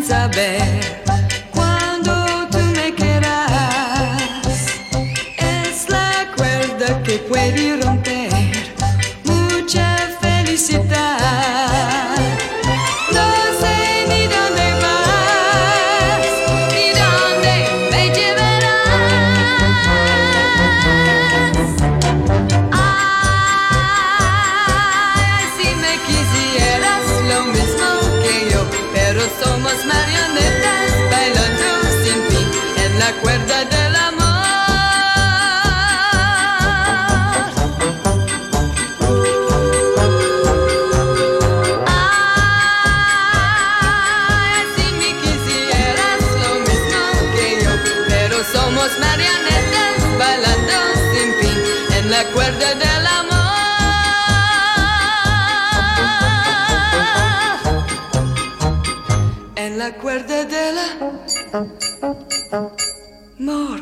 saber cuándo tú me querrás. Es la cuerda que puede romper mucha felicidad. No sé ni dónde vas, ni dónde me llevarás. Ay, si me quisieras lo mismo que yo, pero somos marionetas bailando sin fin en la cuerda del amor. Ay, si me quisieras lo mismo que yo, pero somos marionetas bailando sin fin en la cuerda del amor. En la cuerda del amor.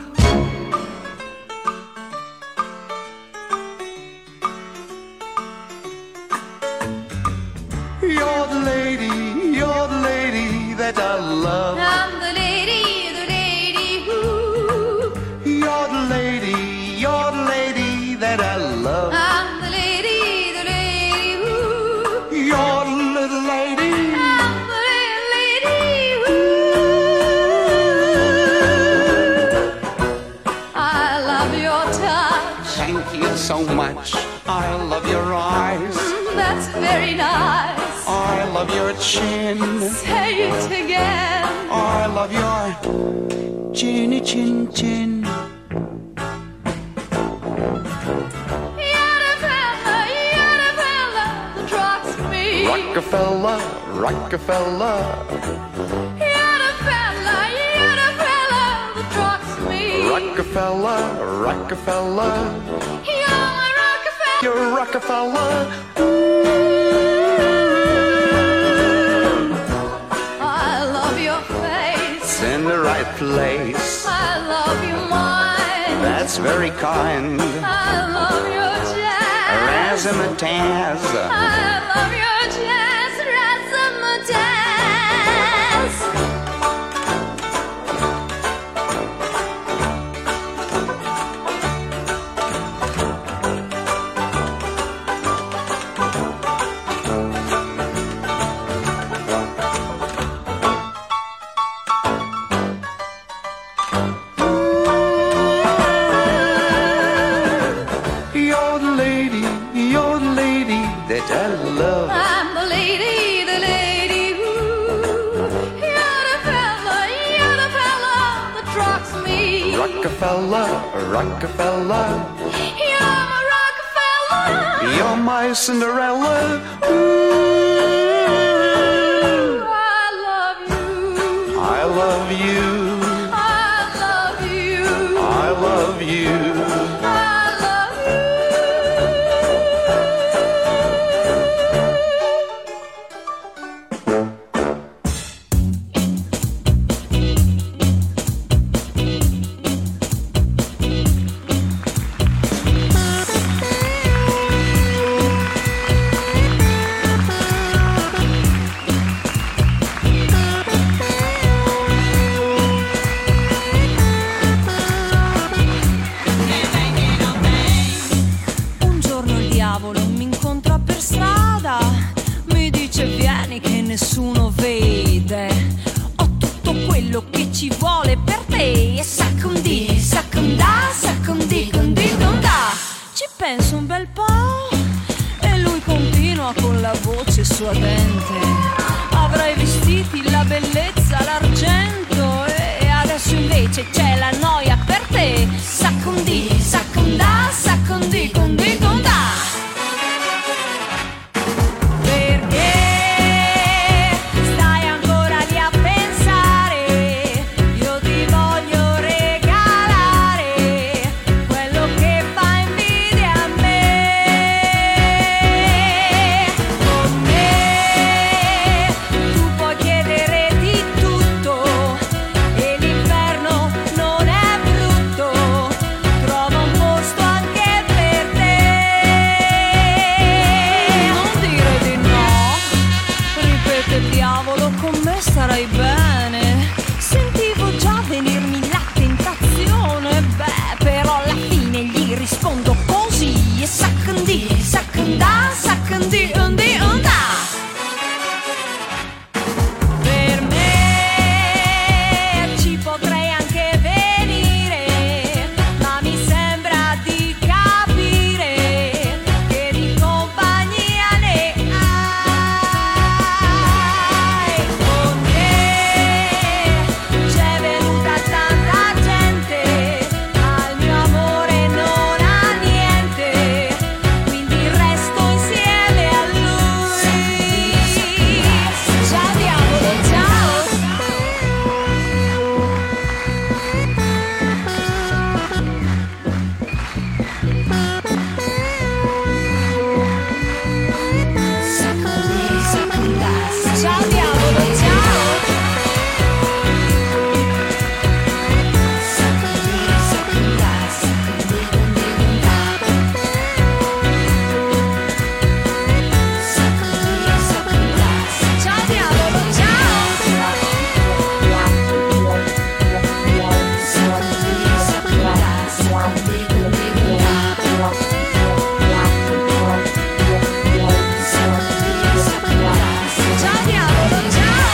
You're the lady that I love. I'm the lady who. You're the lady that I love. I'm the lady who. You're the little lady. I'm the lady who. I love your touch. Thank you so much. I love your eyes. That's very nice. I love your chin. Say it again. I love your chinny chin chin. You're the fella that rocks me. Rockefeller, Rockefeller. You're the fella that rocks me. Rockefeller, Rockefeller. You're my Rockefeller. You're Rockefeller. I love your face. It's in the right place. I love your mind. That's very kind. I love your jazz. Razzmatazz. I love your jazz. Razzmatazz. You're the lady that I love. I'm the lady who. You're the fella that rocks me. Rockefeller, Rockefeller. You're my Rockefeller. You're my Cinderella. I love you. I love you. I love you. I love you. I love you. del diavolo, con me starai bene. Sentivo già venirmi la tentazione, beh, però alla fine gli rispondo così. E saccandi, saccanda, saccandi, undi, unda. Per me ci potrei anche venire, ma mi sembra di capire che di compagnia ne hai. Con te c'è venuta tanta gente, ma il mio amore non ha niente, quindi resto insieme a lui. Ciao diavolo, ciao. Ciao diavolo, ciao. Ciao diavolo, ciao diavolo, ciao.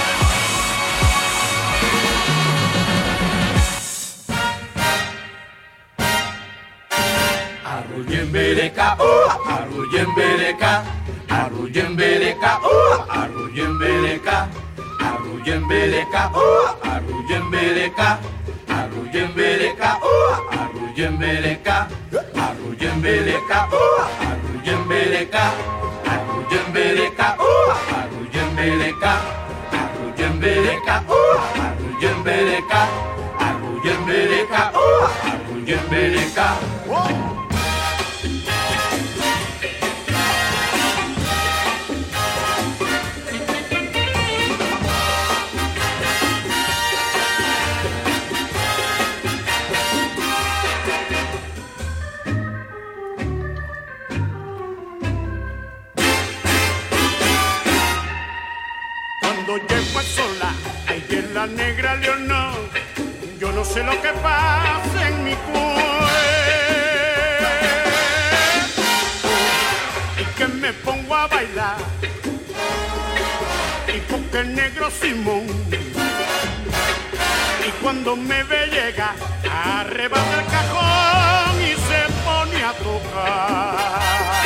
Arrujembeleca, arrujembeleca, arrujembeleca, arrujembeleca, arrujembeleca, arrujembeleca, arrujembeleca, arrujembeleca, arrujembeleca, arrujembeleca, arrujembeleca, arrujembeleca, arrujembeleca, arrujembeleca, arrujembeleca, arrujembeleca. Cuando llego a sola, ahí en la negra Leonor, yo no sé lo que pasa en mi cuerpo, y que me pongo a bailar, y porque el negro Simón, y cuando me ve llega, arrebata el cajón y se pone a tocar.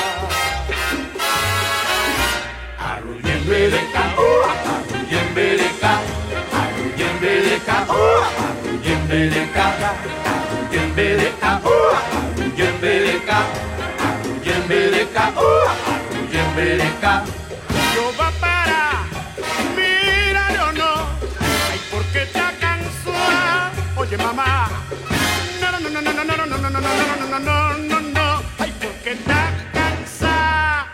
Arrujembeleca, arrujembeleca, arrujembeleca, arrujembeleca, arrujembeleca, arrujembeleca, arrujembeleca, arrujembeleca. Yo va para, mira o no, ay, ¿por qué te cansada? Oye mamá, no, no, no, no, no, no, no, no, no, no, no, no, no, no, no, no, ay, ¿por qué te cansada?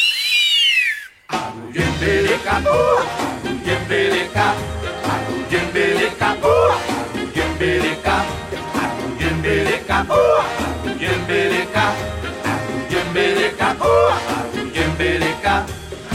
Arrujembeleca, arrujembeleca, arrujembeleca, arrujembeleca, arrujembeleca, arrujembeleca, arrujembeleca, arrujembeleca.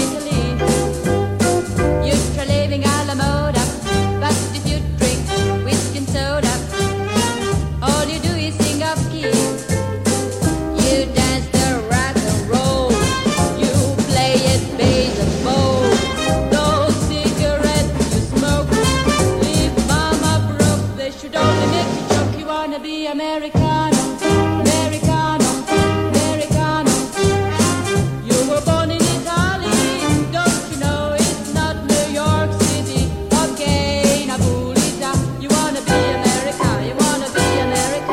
Italy. You try living alla moda, but if you drink whiskey and soda, all you do is sing off key. You dance the rock and roll, you play it baseball. Those cigarettes you smoke leave mama broke. They should only make you choke. You wanna be Americano, Americano, Americano. You were born in Italy, don't you know it's not New York City? Okay, Napolita. You wanna be America, you wanna be America.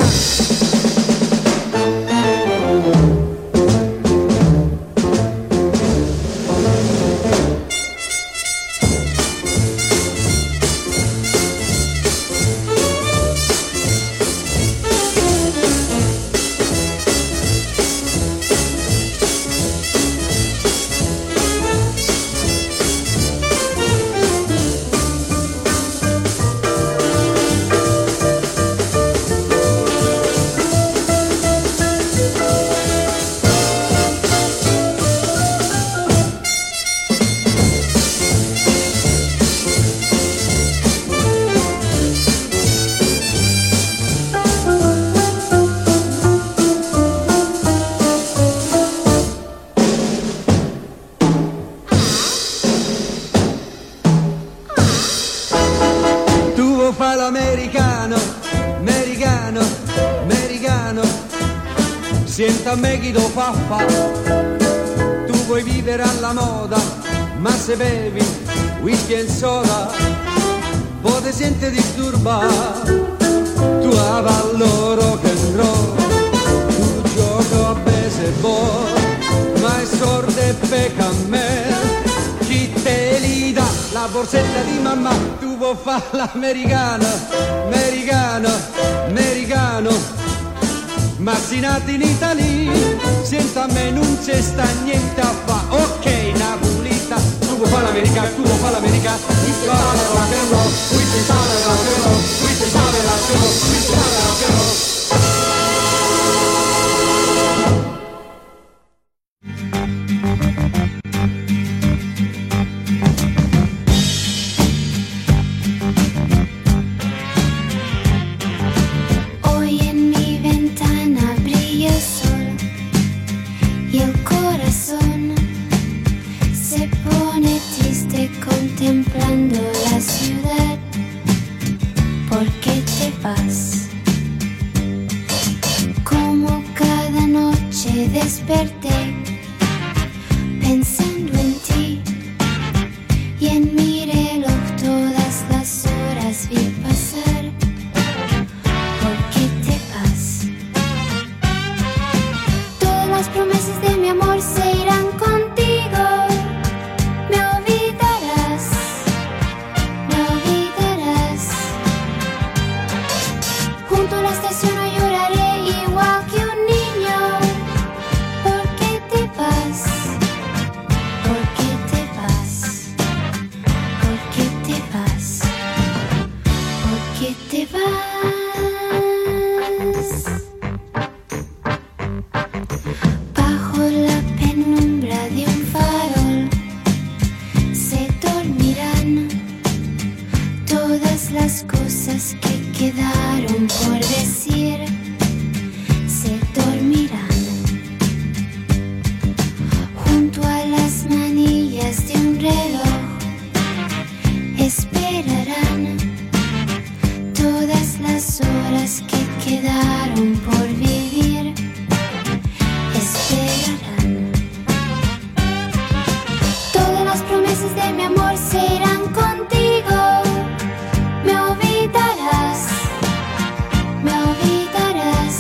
Tu vuoi fare l'americano, americano, americano. Senta a me chi lo fa fa. Tu vuoi vivere alla moda, ma se bevi whisky e soda, poi ti senti disturbare. Tu avallo rock and roll, tu gioco a baseball, ma è sordo e pecca a me. Chi te li dà la borsetta di mamma? Tu vuoi fare l'americano, americano, americano. Ma si nati in Italia, senta a me non c'è sta niente a fa. Ok, Napolita, tu vuoi fare l'americano, tu vuoi fare l'americano. We say rock and roll, we say rock and roll, we say rock and roll, we say rock and roll. Hoy en mi ventana brilla el sol y el corazón se pone triste contemplando la ciudad. ¿Por qué te vas? Como cada noche desperté pensando en ti y en mi reloj todas las horas vi pasar. ¿Por qué te vas? Todas las promesas de mi amor se irán contigo. Me olvidarás, me olvidarás. Junto a la estación hoy lloraré igual que un niño. ¿Por qué te vas? ¿Por qué te vas? ¿Por qué te vas? ¿Por qué te vas? Bajo la penumbra de un farol se dormirán todas las cosas que quedaron por decir. Se dormirán junto a las manillas de un reloj. Esperarán todas las horas que quedaron por vivir. Esperarán. Todas las promesas de mi amor se irán contigo. Me olvidarás, me olvidarás.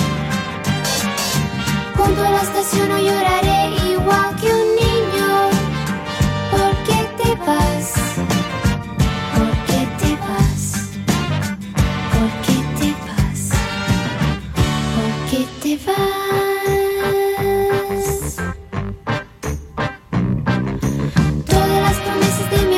Junto a la estación hoy lloraré igual que un niño. ¿Por qué te vas? ¿Por qué te vas? ¿Por qué te vas? ¿Por qué te vas? Todas las promesas de mi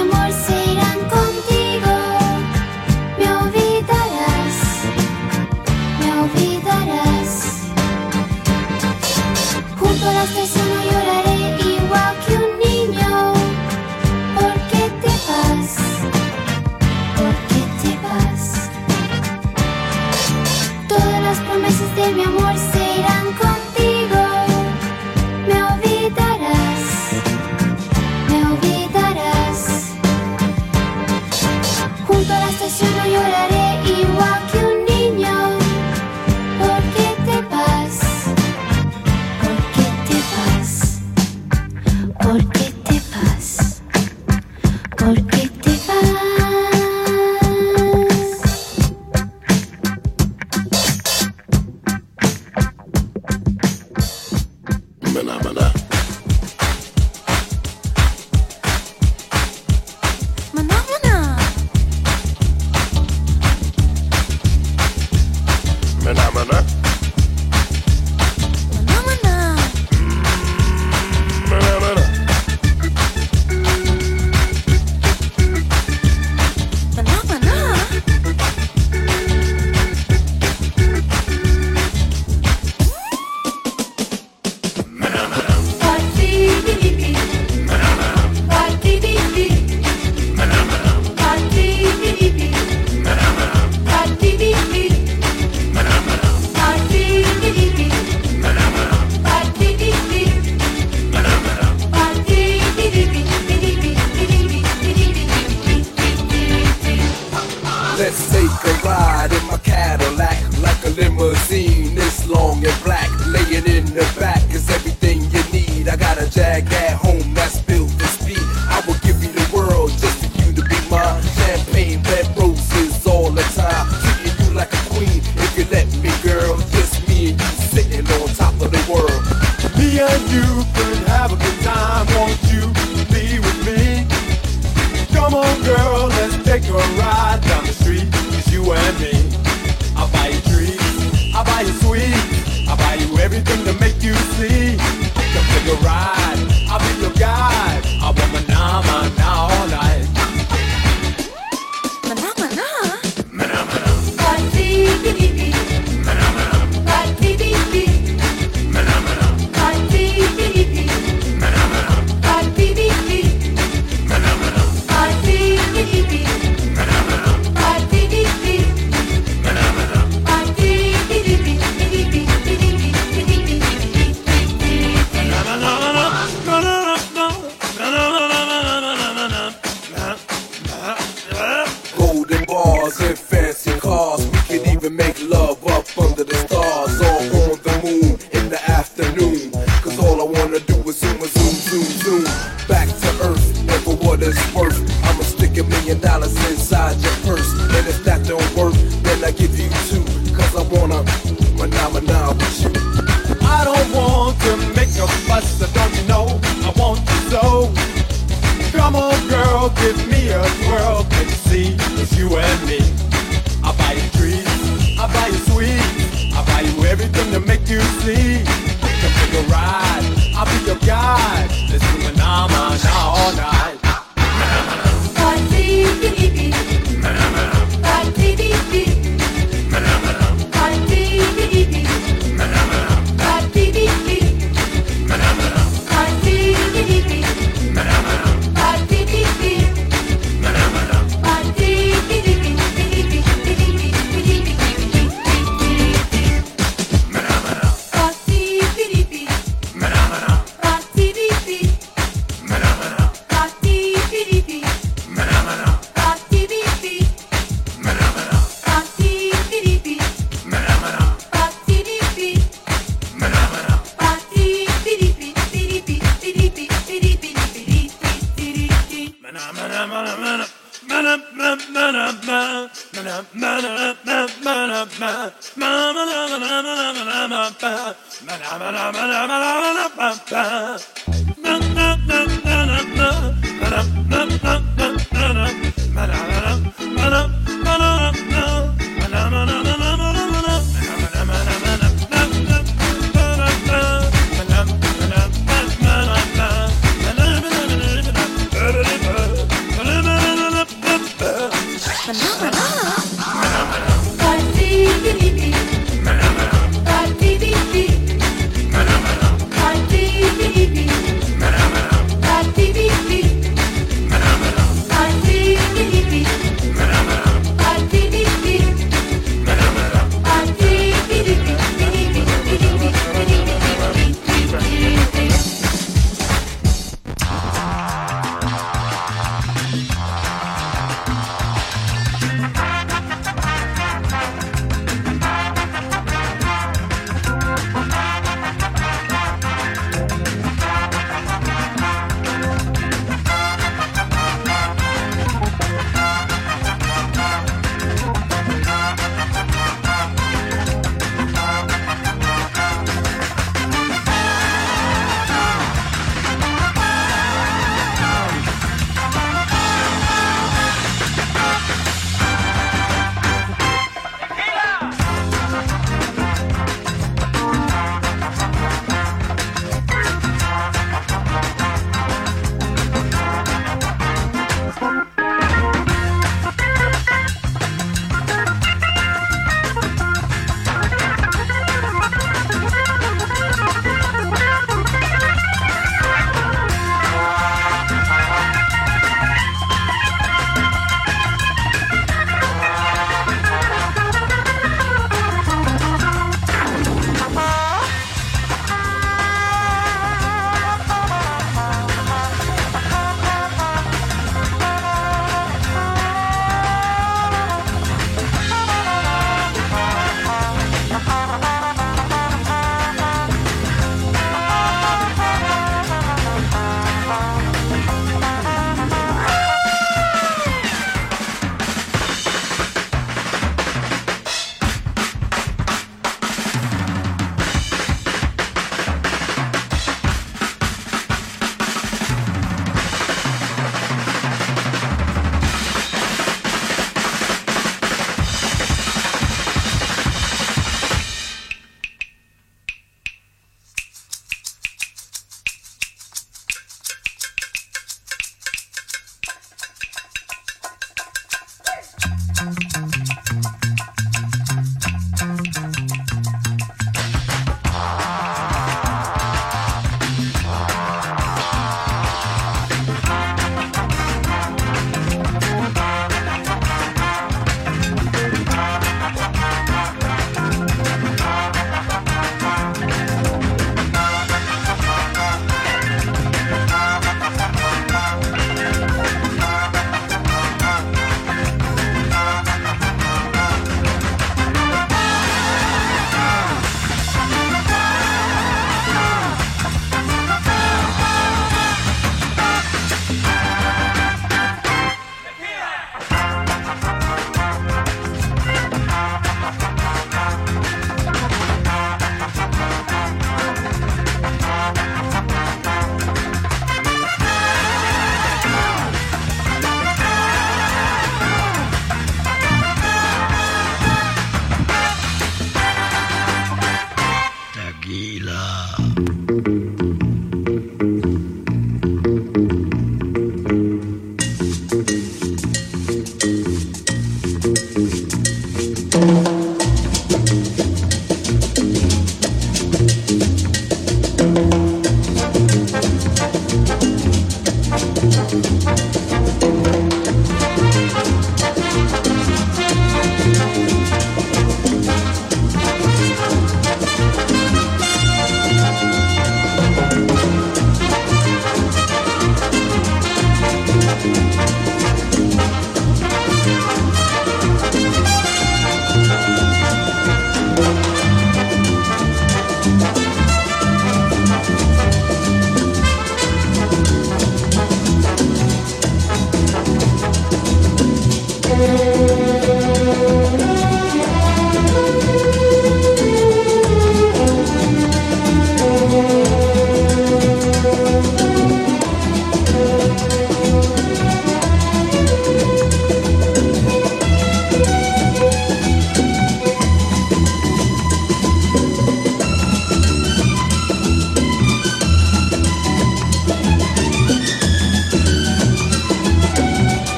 yachts and fancy cars. We could even make love up under the stars, or on the moon in the afternoon. Cause all I wanna do is zoom, zoom, zoom, zoom. Back to earth, and for what it's worth, I'ma stick $1 million inside your purse. And if that don't work, then I give you two. Cause I wanna mana with you. I don't want to make a fuss, so don't you know I want you so. Come on girl, give me a twirl, can you see it's you and me. I'll buy you trees, I'll buy you sweets, I'll buy you everything to make you see. Come take a ride, I'll be your guide. Let's do Manamana all night.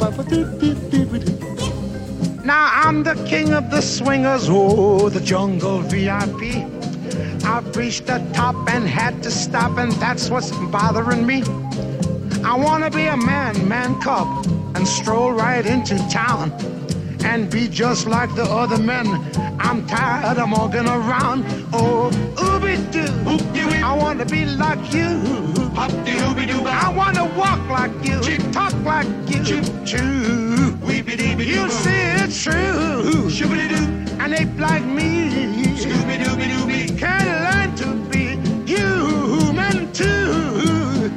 Now I'm the king of the swingers, oh, the jungle VIP. I've reached the top and had to stop, and that's what's bothering me. I wanna be a man cub, and stroll right into town and be just like the other men. I'm tired of walking around. Oh, ooby-doo, I wanna be like you. I wanna walk like you, talk like you, you see it's true. And ape like me can learn to be human too.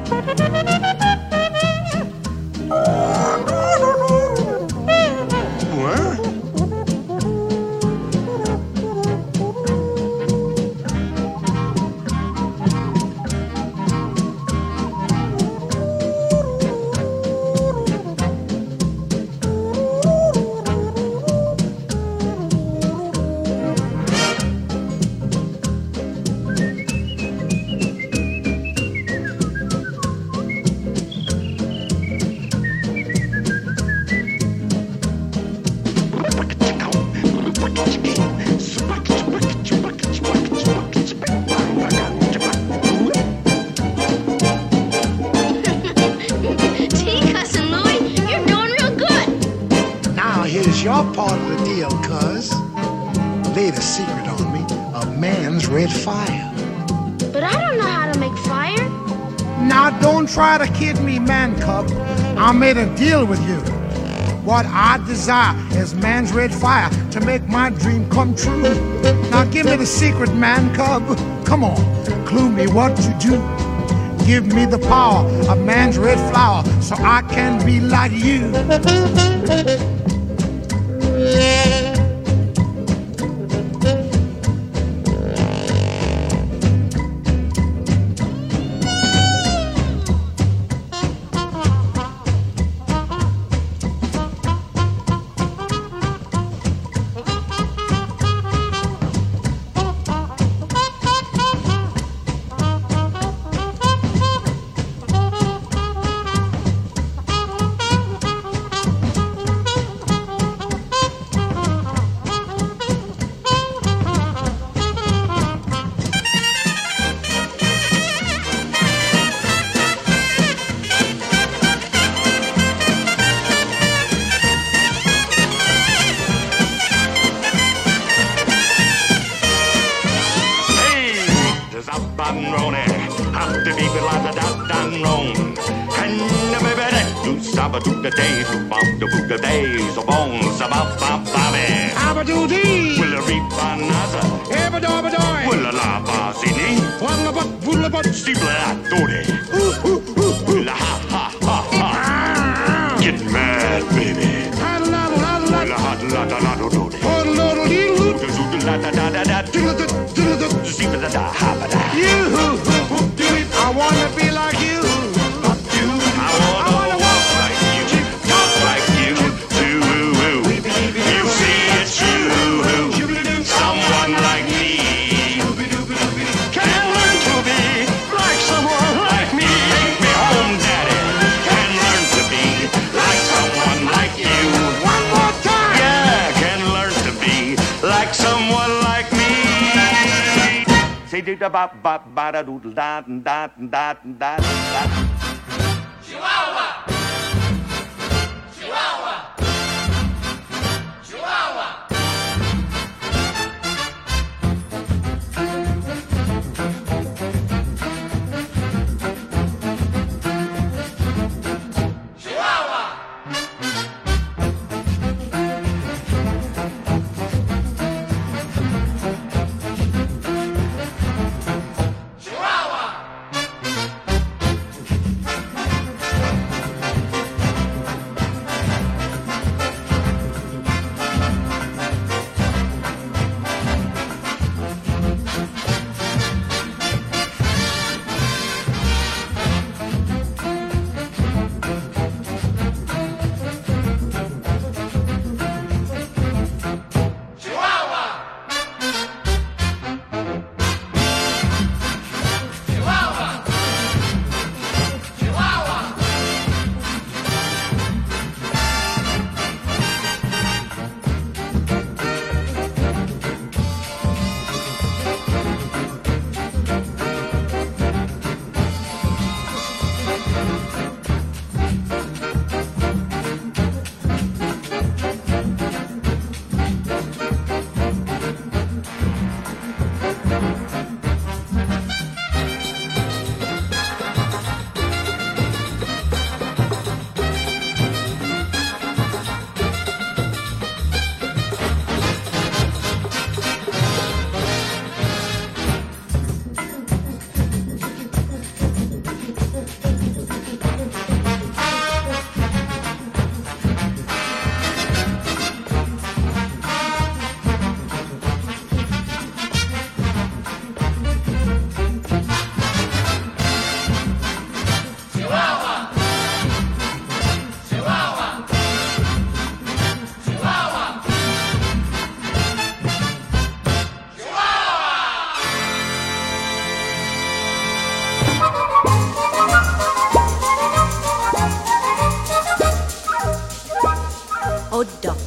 Your part of the deal, cuz. Laid a secret on me, a man's red fire. But I don't know how to make fire. Now don't try to kid me, man cub. I made a deal with you. What I desire is man's red fire to make my dream come true. Now give me the secret, man cub. Come on, clue me what to do. Give me the power of man's red flower so I can be like you. I wanna be like you. I wanna walk like you, talk like you. You see it's you, someone like me can learn to be like someone like me. Take me home, Daddy. Can learn to be like someone like you. One more time. Yeah, can learn to be like someone like me. Say da ba ba ba da doodle da da da da da. Chihuahua. Chihuahua. Chihuahua.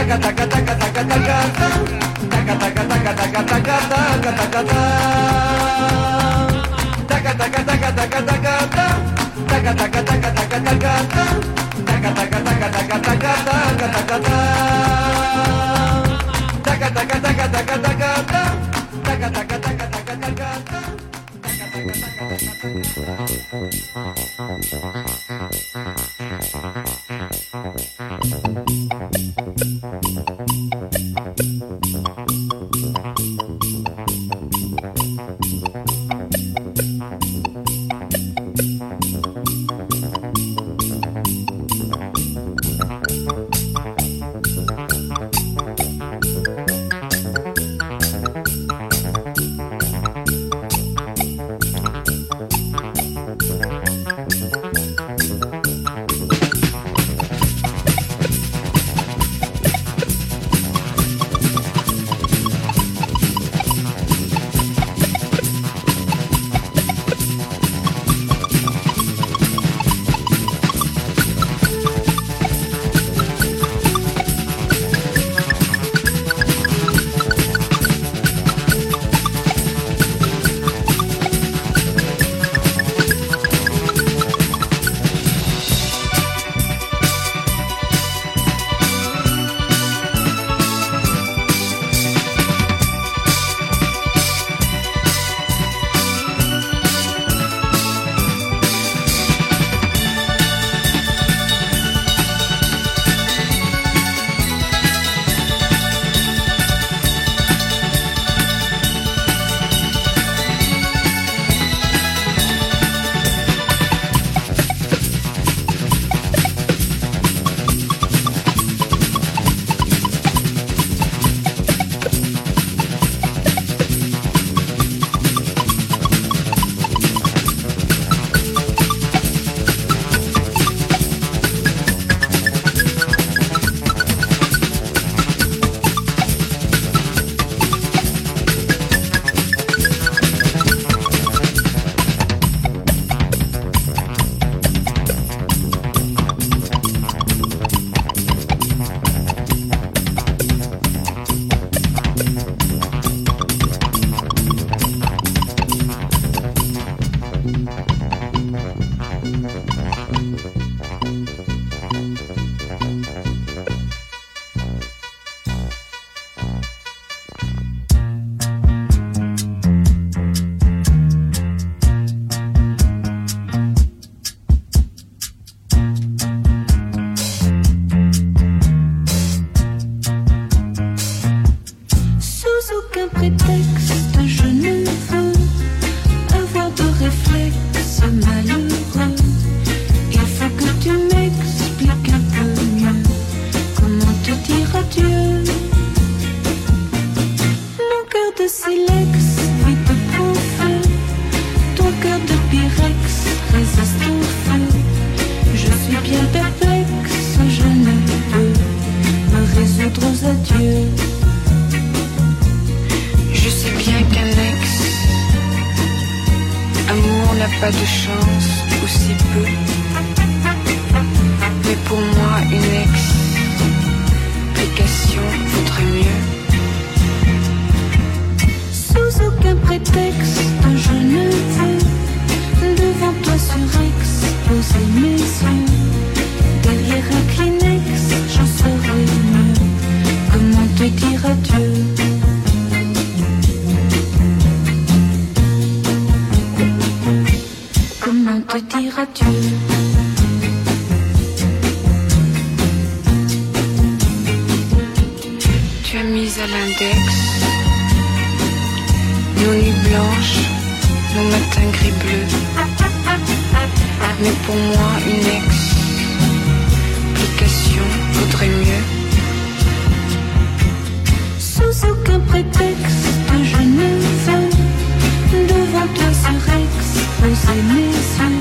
Pas de chance, ou si peu. Mais pour moi, une explication vaudrait mieux. Sous aucun prétexte, je ne veux devant toi surexposer mes yeux. Derrière un Kleenex, j'en saurais mieux. Comment te dire adieu? Comment te dire adieu? Tu as mis à l'index nos nuits blanches, nos matins gris-bleus. Mais pour moi, une explication vaudrait mieux. Sous aucun prétexte, je ne veux devant toi surexposer mes yeux.